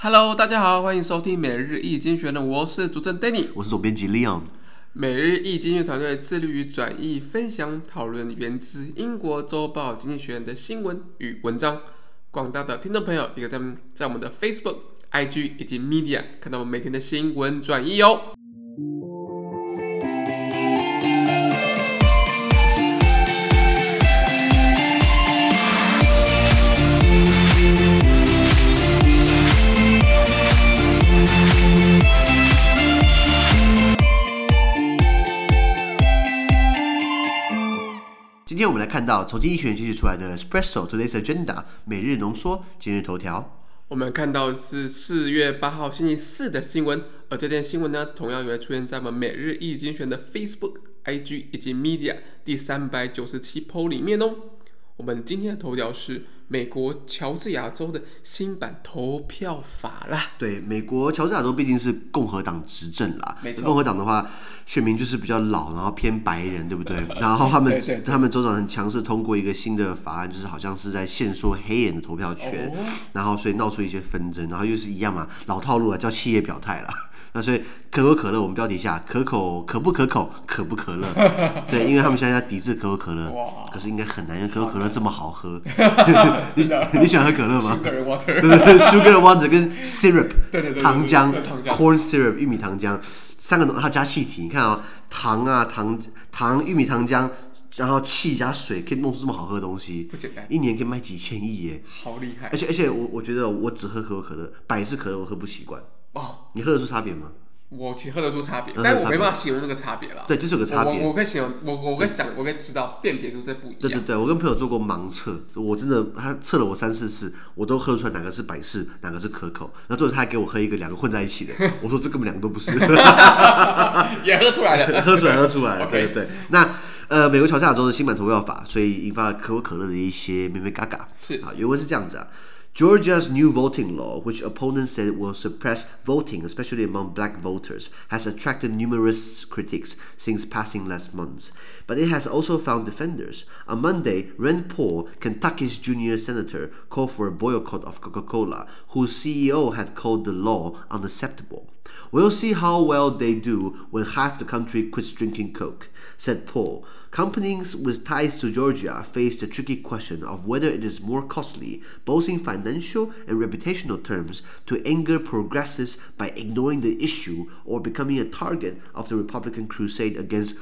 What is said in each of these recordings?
Hello， 大家好，歡迎收聽每日一經濟學人，我是主持人 Danny， 我是總編輯 Leon。 每日一經濟學團隊致力於轉譯、分享、討論源自英國週報《經濟學人》的新聞與文章。廣大的聽眾朋友也可以在我們的 Facebook、IG 以及 Media 看到我們每天的新聞轉譯哦。 今天我們來看到從經濟學人截取出來的 Espresso Today's Agenda 每日濃縮今日頭條。 我們看到的是4月8號星期四的新聞，而這篇新聞呢，同樣也會出現在我們每日一經濟學人的 Facebook、IG 以及 Media 第397 po 裡面哦。我們今天的頭條是美國喬治亞州的新版投票法啦。 對，美國喬治亞州畢竟是共和黨執政啦， 沒錯。 共和黨的話，選民就是比較老，然後偏白人，對不對？然後他們州長很強勢通過一個新的法案，就是好像是在限縮黑人的投票權，然後所以鬧出一些紛爭，然後又是一樣嘛，老套路啊，叫企業表態啦。那所以可口可樂，我們標題下可不可口，可不可樂？對，因為他們現在要抵制可口可樂，可是應該很难，因為可口可樂這麼好喝。你喜歡喝可樂嗎 ？Sugar water， 對 ，Sugar water 跟 syrup， 对糖漿 ，corn syrup 玉米糖漿，3个东西，它加气体。你看啊，糖啊糖玉米糖漿，然後气加水，可以弄出這麼好喝的東西， 不簡單， 一年可以賣幾千億耶， 好厲害！ 而且我覺得我只喝可口可樂，百事可樂我喝不習慣。哦，你喝得出差別嗎？ 我其實喝得出差別，但我沒辦法形容那個差別啦。 對，就是有個差別。 我可以形容，我可以知道辨別出這不一樣。 對，我跟朋友做過盲測，我真的他測了我3-4次，我都喝出來哪個是百事，哪個是可口。然後最後他還給我喝一個2個混在一起的，我說這根本2個都不是。 也喝出來了， 喝出來了，對。那美國喬治亞州的新版投票法，所以引發了可口可樂的一些咩咩嘎嘎。 是啊， 原文是這樣子啊。Georgia's new voting law, which opponents said will suppress voting, especially among black voters, has attracted numerous critics since passing last month. But it has also found defenders. On Monday, Rand Paul, Kentucky's junior senator, called for a boycott of Coca-Cola, whose CEO had called the law unacceptable. We'll see how well they do when half the country quits drinking Coke, said Paul. Companies with ties to Georgia face the tricky question of whether it is more costly, both in financial and reputational terms, to anger progressives by ignoring the issue or becoming a target of the Republican crusade against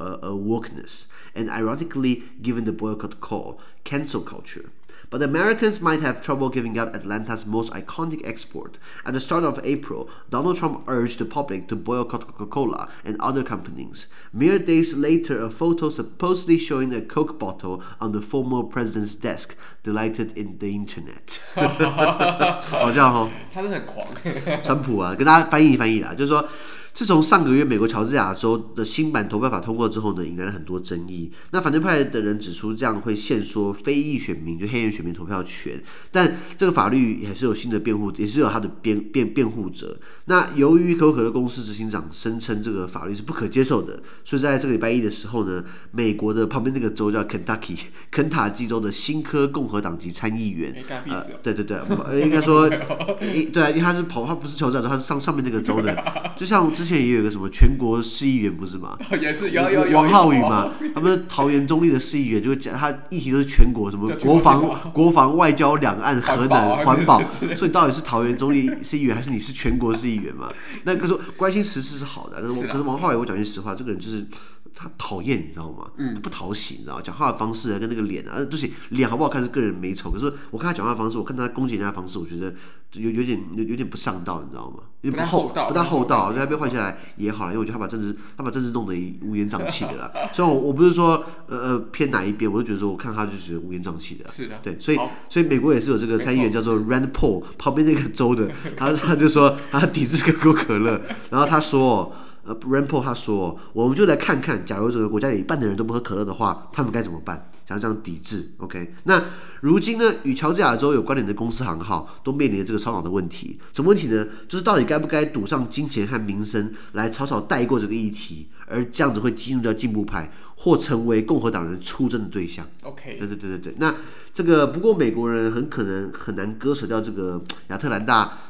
wokeness, and ironically, given the boycott call, cancel culture. But Americans might have trouble giving up Atlanta's most iconic export. At the start of April, Donald Trump urged the public to boycott Coca-Cola and other companies. Mere days later, a photo supposedly showing a Coke bottle on the former president's desk delighted in the internet. 好像哦， 他真的很狂。 川普啊，跟大家翻譯啦，就是說。自從上個月美國喬治亞州的新版投票法通過之後呢，引來了很多爭議。那反對派的人指出，這樣會限縮非裔選民，就黑人選民投票權。但這個法律也是有新的辯護，也是有它的辯護者。那由於可口可樂公司執行長聲稱這個法律是不可接受的，所以在這個禮拜一的時候呢，美國的旁邊那個州叫肯塔基州的新科共和黨籍參議員，對，應該說，對啊，因為他不是喬治亞州，他是上面那個州的，就像之前也有一個什麼全國市議員不是嗎？也是有王浩宇嘛，他們桃園中壢的市議員就講他議題都是全國，什麼國防、外交、兩岸、核能、環保，所以你到底是桃園中壢市議員，還是你是全國市議員嘛？那可是關心時事是好的，可是王浩宇，我講句實話，這個人就是。他討厭，你知道嗎？他不討喜，你知道嗎？講話的方式啊，跟那個臉啊，對不起，臉好不好看是個人美醜。可是我看他講話的方式，我看他攻擊人家的方式，我覺得有點不上道，你知道嗎？有點不大厚道，所以他被換下來也好了，因為我覺得他把政治弄得烏煙瘴氣的啦。雖然我不是說偏哪一邊，我就覺得說我看他就覺得烏煙瘴氣的啦。是的，對，所以美國也是有這個參議員叫做 Rand Paul， 旁邊那個州的，他就說他抵制可口可樂，然後他說。Rand Paul 他說，我們就來看看，假如整個國家有一半的人都不喝可樂的話，他們該怎麼辦？想這樣抵制 ，OK？ 那如今呢，與喬治亞州有關聯的公司行號都面臨這個燒腦的問題。什麼問題呢？就是到底該不該賭上金錢和名聲來草草帶過這個議題，而這樣子會激怒掉進步派，或成為共和黨人出征的對象。OK？ 對。那這個不過美國人很可能很難割捨掉這個亞特蘭大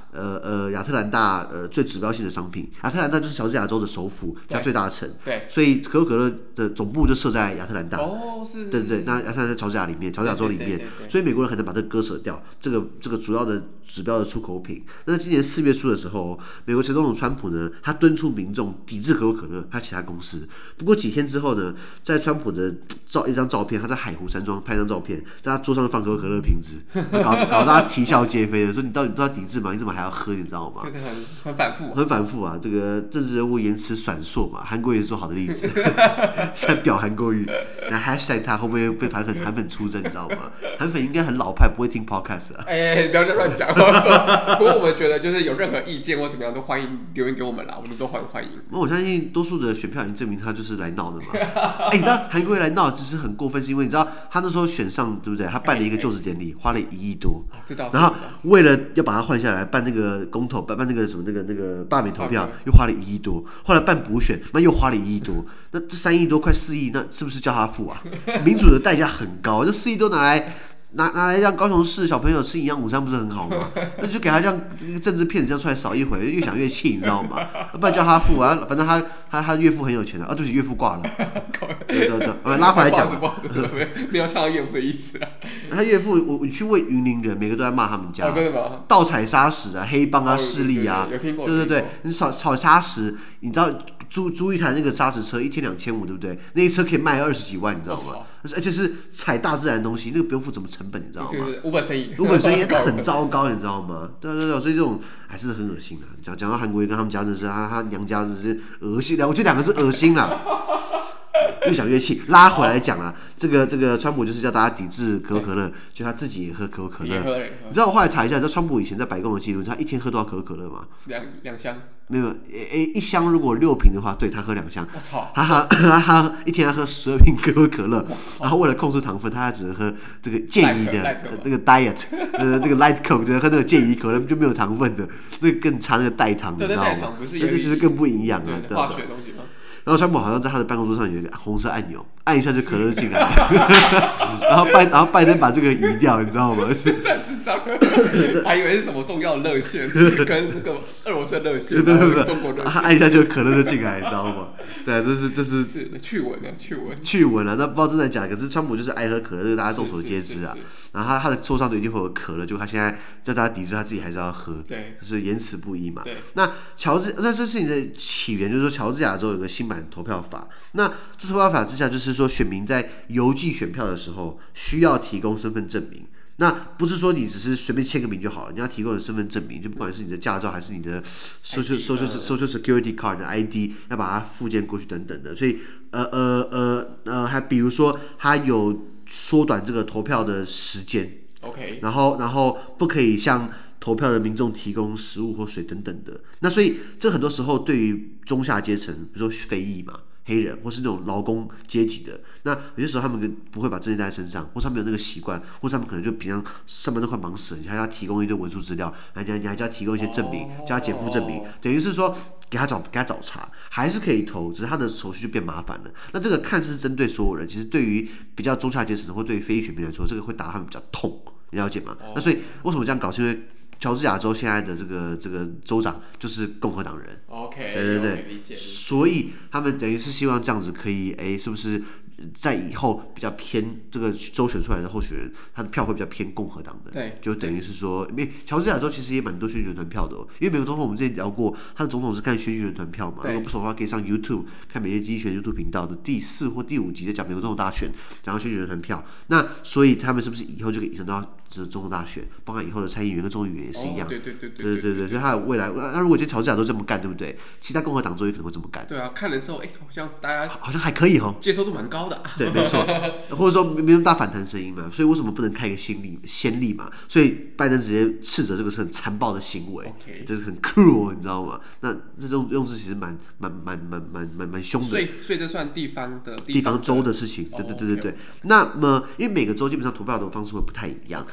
亞特蘭大最指標性的商品。亞特蘭大就是喬治亞州的首府加最大的城， 对， 所以可口可乐的總部就設在亞特蘭大。 哦，是。 对对对，那亞特蘭大在喬治亞里面，喬治亞州裡面，所以美国人很难把这个割舍掉。这個主要的指標的出口品。那今年4月初的時候，美國前總統川普呢，他敦促民眾抵制可口可樂還有其他公司。不過幾天之後呢，在川普的一張照片，他在海湖山莊拍張照片，在他桌上放可口可樂瓶子，搞大家啼笑皆非的，說你到底不要抵制嗎？你怎麼還要喝？你知道嗎？ 很反覆， 很反覆啊！這個政治人物言辭閃爍嘛，韓國也是說好的例子，在表韓國語。那 hashtag 他會不會被韓粉出征？你知道嗎？韓粉應該很老派，不會聽 podcast 啊。 不要再亂講。不過我們覺得，就是有任何意見或怎麼樣，都歡迎留言給我們啦，我們都歡迎。 我相信多數的選票已經證明他就是來鬧的嘛。你知道韓國瑜來鬧，其實很過分，是因為你知道他那時候選上，對不對？他辦了一個就職典禮，花了1億多，然後為了要把他換下來，辦那個公投，辦那個什麼那個罷免投票，又花了1億多。後來辦補選，那又花了1億多。那這3億多，快4億，那是不是叫他付啊？民主的代價很高，這4億多拿來讓高雄市小朋友吃營養午餐，不是很好嗎？那就給他這樣政治騙子這樣出來掃一回，越想越氣，你知道嗎？不然叫他付啊，反正他岳父很有錢的啊，對不起，岳父掛了。對，拉回來講， 不好意思，沒有唱到岳父的意思啊。 他岳父，我去問雲林人，每個都在罵他們家， 真的嗎？盜採砂石啊，黑幫啊，勢力啊， 有聽過？ 對，你炒砂石，你知道租一台那個砂石車，1天2500，對不對？那一車可以賣20幾萬，你知道嗎？而且是採大自然的東西，那個不用付什麼成本，你知道嗎？ 無本生意， 很糟糕，你知道嗎？對，所以這種還是很惡心的。講到韓國瑜跟他們家真是，他娘家真是惡心，我覺得2個字惡心啦。越想越氣，拉回來講啊，這個川普就是叫大家抵制可口可樂，就他自己也喝可口可樂。你知道我後來查一下，你知道川普以前在白宮的記錄，他一天喝多少可口可樂嗎 ？2箱。沒有，1箱如果6瓶的話，對，他喝2箱。 我操！ 他一天喝12瓶可口可樂，然後為了控制糖分，他只能喝這個健怡的那個 diet， 那個 light coke， 只能喝那個健怡可樂，就沒有糖分的，那個更差，那個代糖，你知道嗎？那個其實更不營養啊，對吧？然後川普好像在他的辦公桌上有一個紅色按钮，按一下就可樂進來了。然後拜登把這個移掉，你知道嗎？ 太智障了，還以為是什麼重要的熱線，跟那個俄羅斯熱線， 對， 中國熱線， 他按一下就可樂就進來，你知道嗎？對，這是趣聞啊， 那不知道真的假的，可是川普就是愛喝可樂，這個大家眾所皆知啊。然後他的桌上都一定會有可樂，就他現在叫大家抵制，他自己還是要喝， 對，就是言辭不一嘛。那這事情的起源就是說，喬治亞州有個新版投票法，那這投票法之下，就是說選民在郵寄選票的時候需要提供身份證明。那不是說你只是隨便簽個名就好了，你要提供你的身份證明，就不管是你的駕照還是你的 social security card 的 ID， 要把它附件過去等等的。所以還比如說他有縮短這個投票的時間 ，OK， 然後不可以向投票的民眾提供食物或水等等的。那所以這很多時候對於中下階層，比如說非裔嘛。黑人或是那種勞工階級的，那有些時候他們不會把證件帶在身上，或是他們有那個習慣，或是他們可能就平常上班都快忙死了，你還要提供一堆文書資料，你還要提供一些證明，叫他減負證明，等於是說給他找茬，還是可以投，只是他的手續就變麻煩了。那這個看似是針對所有人，其實對於比較中下階層或對於非裔選民來說，這個會打他們比較痛，你了解嗎？那所以為什麼這樣搞？是因為喬治亞州現在的這個州長就是共和黨人 ，OK， 對， 理解。 所以他們等於是希望這樣子可以，是不是在以後比較偏這個州選出來的候選人，他的票會比較偏共和黨的， 對， 就等於是說，因為喬治亞州其實也蠻多選舉人團票的哦，因為美國總統我們之前聊過，他的總統是看選舉人團票嘛，如果不熟的話可以上 YouTube 看每日經濟學 YouTube 頻道的第4或第5集在講美國總統大選，然後選舉人團票，那所以他們是不是以後就可以影響到總統大選，包括以後的參議員跟眾議員也是一樣，對，所以他的未來，那如果今天喬治亞州這麼幹，對不對？其他共和黨州也可能會這麼幹。 對啊，看了之後，好像大家好像還可以哦， 接受度蠻高的。 對，沒錯，或者說沒那麼大反彈聲音嘛，所以為什麼不能開一個先例嘛？所以拜登直接斥責這個是很殘暴的行為，就是很 cruel， 你知道嗎？那這種用字其實蠻兇的。 所以這算地方州的事情，對。那麼因為每個州基本上投票的方式會不太一樣，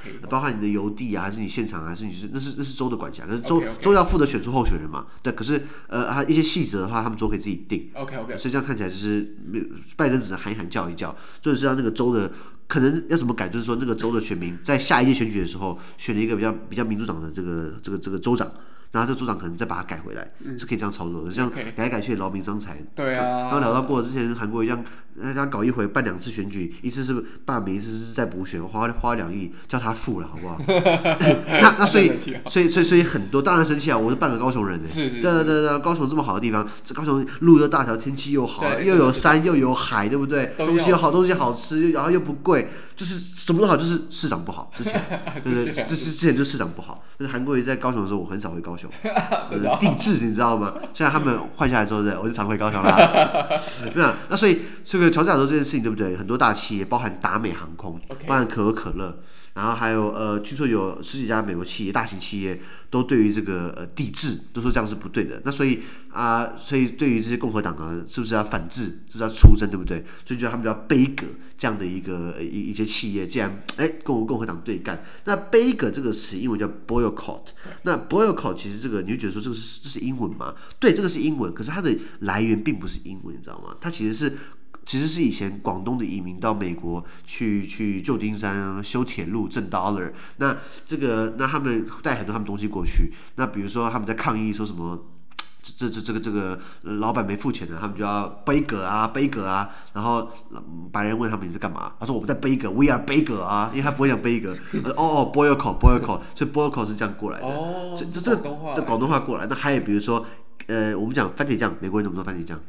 包含你的郵遞啊，還是你現場，還是那是州的管辖，可是州要負責選出候選人嘛，对，可是一些細則的話，他們州可以自己定。 OK， 所以這樣看起来就是拜登只能喊一喊叫一叫，就是让那個州的可能要怎麼改，就是說那個州的選民在下一屆選舉的時候選了一個比較民主黨的這個州長。然後這個州長可能再把它改回来，是可以這樣操作的。这樣改來改去劳民傷財。 對啊。 剛聊到過之前韓國一樣，他搞一回辦2次選舉，一次是罷免，一次是再補選，花2億叫他付了，好不好？那所以很多當然生氣啊！我是半個高雄人是對，高雄這麼好的地方，這高雄路又大條，天氣又好，又有山又有海，對不對？東西又好，東西好吃，然後又不貴，就是什麼都好，就是市長不好。之前對，之前就市長不好。就是韓國瑜在高雄的時候，我很少回高雄。地质你知道嗎？现在他們換下來之後，我就常回高雄啦。那所以這個喬治亞州這件事情，對不對？很多大企業，包含達美航空，包含可口可樂，然後還有聽說有10幾家美國企業、大型企業都對於這個地質都說這樣是不對的。那所以對於這些共和黨啊，是不是要反制？是不是要出征？對不對？所以就他們叫杯葛這樣的一些企業，既然跟共和黨對幹，那杯葛這個詞英文叫 boycott。那 boycott 其實這個你會覺得說這是英文嗎？對，這個是英文，可是它的來源並不是英文，你知道嗎？它其實是以前廣東的移民到美國去舊金山修鐵路掙 dollar， 那他們帶很多他們東西過去，那比如說他們在抗議說什麼。這個老闆沒付錢的，他們就要杯葛啊，然後白人問他們你在幹嘛？他說我們在杯葛 ，We are 杯葛啊，因為他不會講杯葛。boycott， 所以 boycott 是這樣過來的。所以這廣東話過來。那還有比如說，我們講番茄醬，美國人怎麼說番茄醬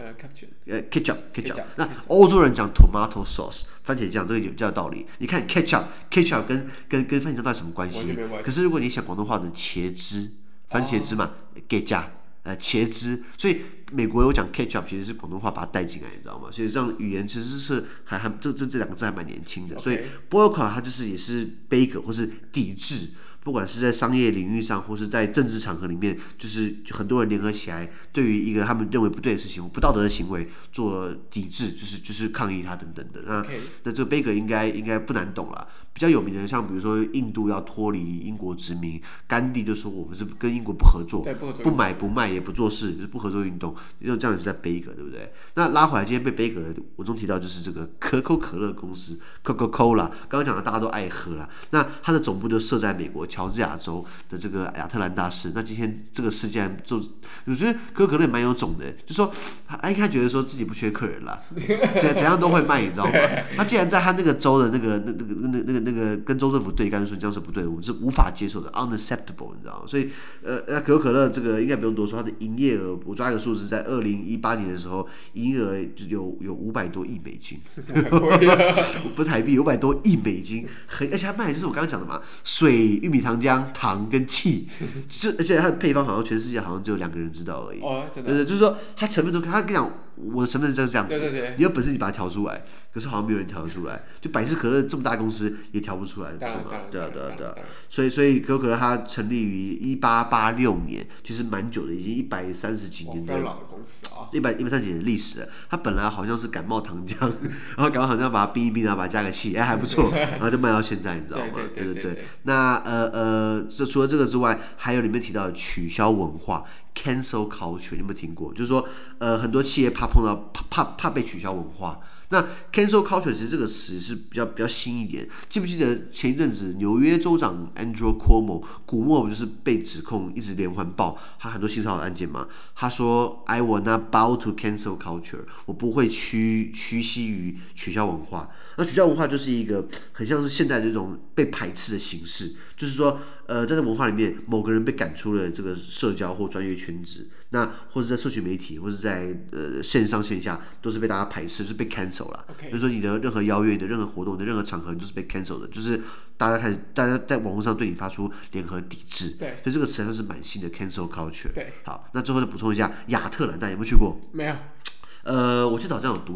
？ketchup。那歐洲人講 tomato sauce， 番茄醬，這個有叫道理。你看 ketchup 跟番茄醬到底什麼關係？可是如果你想廣東話的茄汁，番茄汁嘛，給加。茄汁，所以美國有講 ketchup， 其實是廣東話把它帶進來，你知道嗎？所以這樣語言其實是這兩個字還蠻年輕的。所以 boycott 它就是也是杯葛或是抵制，不管是在商業領域上，或是在政治場合裡面，就是很多人聯合起來，對於一個他們認為不對的事情、不道德的行為做抵制，就是抗議它等等的。那這個杯葛應該不難懂啦。比較有名的，像比如說印度要脫離英國殖民，甘地就說我們是跟英國不合作，不買不賣也不做事，就是不合作運動，因為這樣也是在杯葛，对不对？那拉回來，今天被杯葛的，我中提到就是這個可口可樂公司 Coca-Cola， 剛剛講的大家都愛喝啦。那它的總部就設在美國喬治亞州的這個亞特蘭大市。那今天這個事件就，我覺得可口可樂也蠻有種的，就說他覺得說自己不缺客人啦，怎樣都會賣，你知道嗎？他既然在他那個州的那個跟州政府對幹，說這樣是不對的，我們是無法接受的 ，unacceptable， 你知道嗎？所以可口可樂這個應該不用多說，它的營業額，我抓一個數字，在2018年的時候，營業額有500多億美金，不是台幣，500多億美金，而且它賣的就是我剛剛講的嘛，水、玉米糖漿、糖跟氣，而且它的配方好像全世界好像只有2個人知道而已。哦，真的。对，就是說它成分都，他跟你講，我的成分是這樣子，對，你有本事你把它調出來，可是好像沒有人調得出來，就百事可樂這麼大公司也調不出來，是嗎？對啊。所以可口可樂它成立於1886年，其實蠻久的，已經130幾年的，非常老的公司啊，130幾年的歷史了。它本來好像是感冒糖漿，然後感冒糖漿把它冰一冰，然後把它加個氣，還不錯，然後就賣到現在，你知道嗎？對。那除了這個之外，還有裡面提到的取消文化 （cancel culture），你有沒有聽過？就是說，很多企業怕被取消文化。那 cancel culture 其實這個詞是比較新一點，記不記得前一陣子紐約州長 Andrew Cuomo 古默不就是被指控一直連環爆他很多性騷擾案件嗎？他說 I will not bow to cancel culture， 我不會屈膝於取消文化。那取消文化就是一個很像是現代這種被排斥的形式，就是說在這文化裡面，某個人被趕出了這個社交或專業圈子，那或者在社群媒體，或者在線上線下，都是被大家排斥，就是被 cancel 了。就是說你的任何邀約、你的任何活動、你的任何場合，你都是被 cancel 的，就是大家在網絡上對你發出聯合抵制。對，所以這個詞還是蠻新的 cancel culture。對，好，那最後再補充一下，亞特蘭大有沒有去過？沒有。我記得好像有賭場。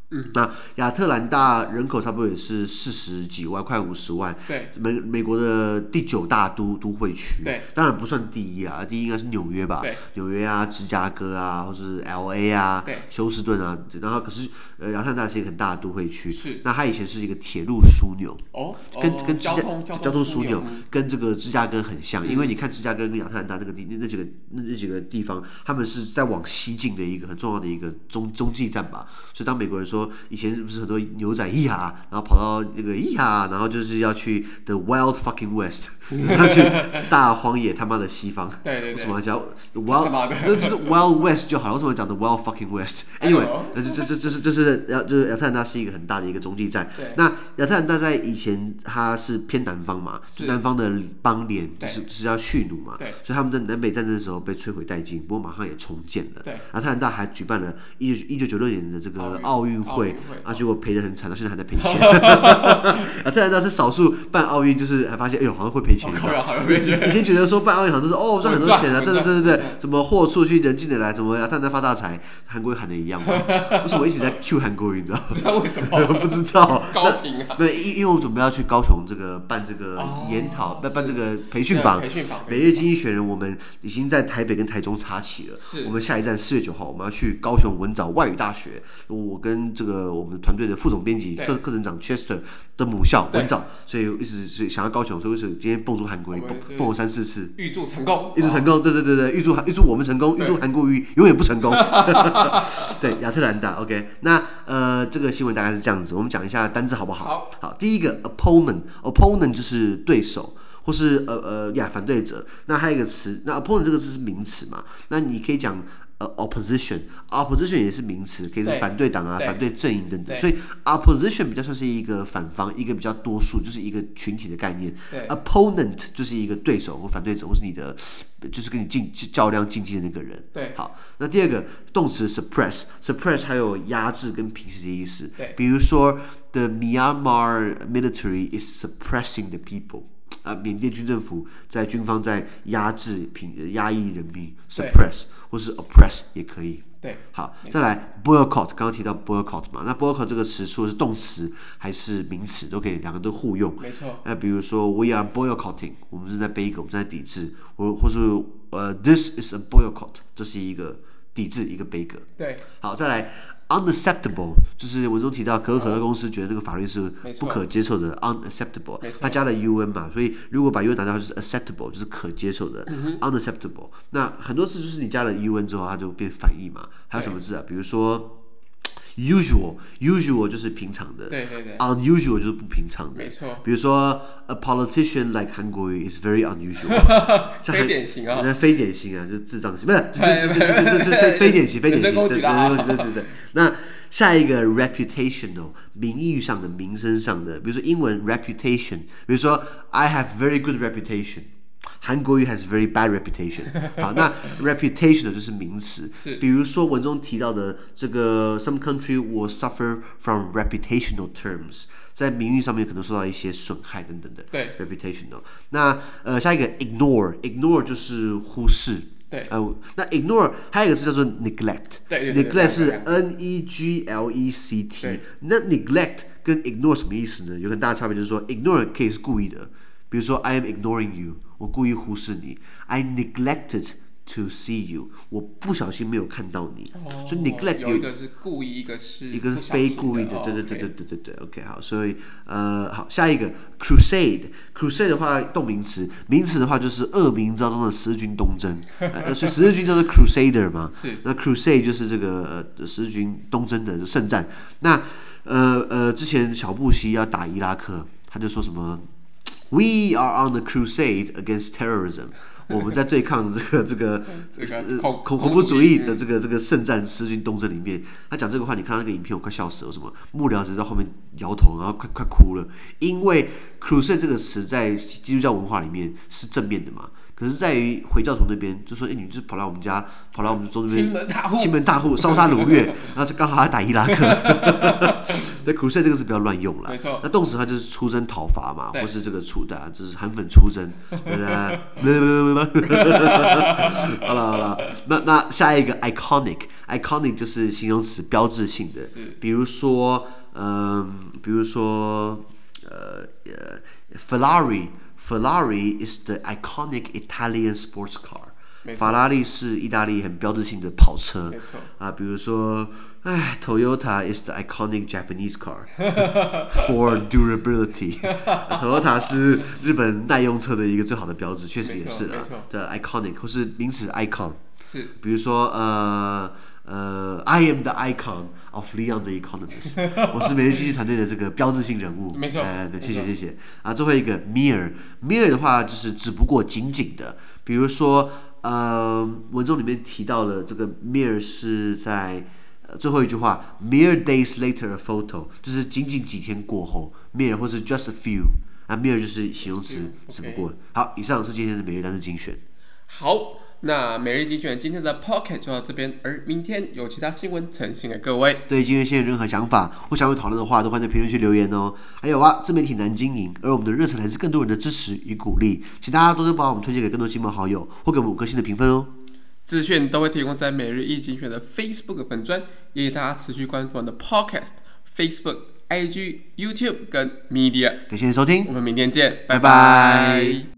那亞特蘭大人口差不多也是40幾萬，快50萬。 對， 美國的第9大都會區。 对， 當然不算第一啊，第一應該是紐約吧？紐約啊，芝加哥啊，或是 LA 啊，休斯頓啊。然後可是亞特蘭大是一個很大的都會區。是。那它以前是一個鐵路樞紐。跟交通樞紐跟這個芝加哥很像，因為你看芝加哥跟亞特蘭大那幾個地方，他們是在往西進的一個很重要的一個中繼站吧。所以當美國人說以前不是很多牛仔然後跑到那個然後就是要去 the wild fucking west， 要去大荒野他媽的西方。对，為什麼要叫 wild？ 那就是 wild west 就好了，為什麼講 the wild fucking west？Anyway， 就是亞特蘭大是一個很大的一個中繼站。那亞特蘭大在以前它是偏南方嘛，南方的邦聯就是要蓄奴嘛，所以他們在南北戰爭的時候被摧毀殆盡，不過馬上也重建了。亞特蘭大還舉辦了1996年的這個奧運會結果賠得很慘，到現在還在賠錢。亞特蘭大是少數辦奧運就是還發現好像會賠錢。以前覺得說辦奧運好像都是賺很多錢啊，對，什麼貨出去人進得來，什麼亞特蘭大發大財，韓國瑜喊的一樣嘛。為什麼一直在 Q 韓國瑜？你知道嗎？為什麼？不知道。高屏啊。對，因為我準備要去高雄這個辦這個研討，辦這個培訓坊。每日經濟學人我們已經在台北跟台中插旗了。我們下一站4月9號，我們要去高雄文藻外語大學。我跟這個我們團隊的副總編輯、課程長 Chester 的母校文藻，所以一直想要高雄，所以今天蹦出韓國瑜，蹦了3-4次，預祝成功，對，預祝我們成功，預祝韓國瑜永遠不成功。對，亞特蘭大 ，OK， 那這個新聞大概是這樣子，我們講一下單字好不好？好，第一個 opponent 就是對手。或是反對者，那還有一個詞，那 opponent 這個字是名詞嘛？那你可以講opposition 也是名詞，可以是反對黨啊、反對陣營等等。所以 opposition 比較算是一個反方，一個比較多數，就是一個群體的概念。opponent 就是一個对手或反對者，或是你的就是跟你较量竞技的那個人。对，好，那第二個動詞 suppress 還有壓制跟平息的意思。比如說 the Myanmar military is suppressing the people。緬甸軍政府在軍方在壓抑人民 ，suppress 或是 oppress 也可以。对，好，再來 boycott， 剛剛提到 boycott 嘛，那 boycott 這個詞說的是動詞還是名詞都可以，兩個都互用。沒錯。比如說 we are boycotting， 我們是在背一個，我們在抵制，或是this is a boycott， 這是一個抵制一個背個。對，好，再來。unacceptable 就是文中提到可口可樂公司覺得那個法律是不可接受的 unacceptable， 它加了 un 嘛，所以如果把 un 拿掉就是 acceptable， 就是可接受的。unacceptable 那很多字就是你加了 un 之後它就變反義嘛。還有什麼字啊？比如說 usual 就是平常的，对 unusual 就是不平常的。没错。比如說 a politician like 韓國瑜 is very unusual， 非典型啊，非典型啊，就智障型，不是，就非典型，对。那下一個 reputational 名譽上的、名聲上的，比如說英文 reputation， 比如說 I have very good reputation。韓國瑜 has very bad reputation。好，那 reputation 就是名詞，比如說文中提到的這個 some country will suffer from reputational terms， 在名譽上面可能受到一些損害等等的。對 ，reputational。那下一個 ignore 就是忽視。对，那 ignore 還有一個字叫做 neglect。對 ，neglect 是 neglect。那 neglect 跟 ignore 什麼意思呢？有很大的差別，就是說 ignore 可以是故意的，比如說 I am ignoring you。我故意忽視你 ，I neglected to see you， 我不小心沒有看到你，所以 neglect 有一個是故意，一個是非故意的，對 ，OK 好，所以好，下一個 crusade 的話動名詞，名詞的話就是惡名昭彰的十字軍東征，所以十字軍叫做 crusader 嘛，那 crusade 就是這個十字軍東征的聖戰，那之前小布希要打伊拉克，他就說什麼？ We are on the crusade against terrorism。我們在對抗這個恐怖主義的這個聖戰十字軍東征裡面，他講這個話，你看到那個影片，我快笑死了。什麼幕僚只在後面搖頭，然後快哭了，因為 crusade 這個詞在基督教文化裡面是正面的嘛。 可是在於回教徒那邊就說，你就跑來我們家，跑來我們中這邊， 欺門大戶， 燒殺擄掠，然後就剛好還打伊拉克。對 ，crusade 這個是不要亂用啦。 沒錯。 那動詞它就是出征討伐嘛，或是這個就是韓粉出征。好了，那下一個 iconic 就是形容詞，標誌性的，比如說 Ferrari is the iconic Italian sports car。法拉利是意大利很標誌性的跑車。比如說Toyota is the iconic Japanese car for durability。Toyota 是日本耐用車的一個最好的標誌，確實也是的 iconic， 或是名詞 icon。是，比如說I am the icon of Leon the Economist。我是每日經濟团隊的這個標誌性人物。沒錯。對，謝謝。最後一個 mere 的話就是只不過僅僅的，比如說文中裡面提到的這個 mere 是在最後一句話 mere days later a photo， 就是僅僅幾天過後 mere， 或是 just a few。mere 就是形容詞，只不過。好，以上是今天的每日單字精選。好。那每日精選今天的 Podcast 就到這邊，而明天有其他新聞呈現給各位。對今天有任何想法或想要討論的話，都歡迎在評論區留言哦。還有自媒體難經營，而我們的熱忱來自更多人的支持與鼓勵，請大家多多把我們推薦給更多親朋好友，或給我們5顆星的評分哦。資訊都會提供在每日一精選的 Facebook 粉專，也請大家持續關注我們的 Podcast、Facebook、IG、YouTube 跟 Media。感謝收聽，我們明天見，拜拜。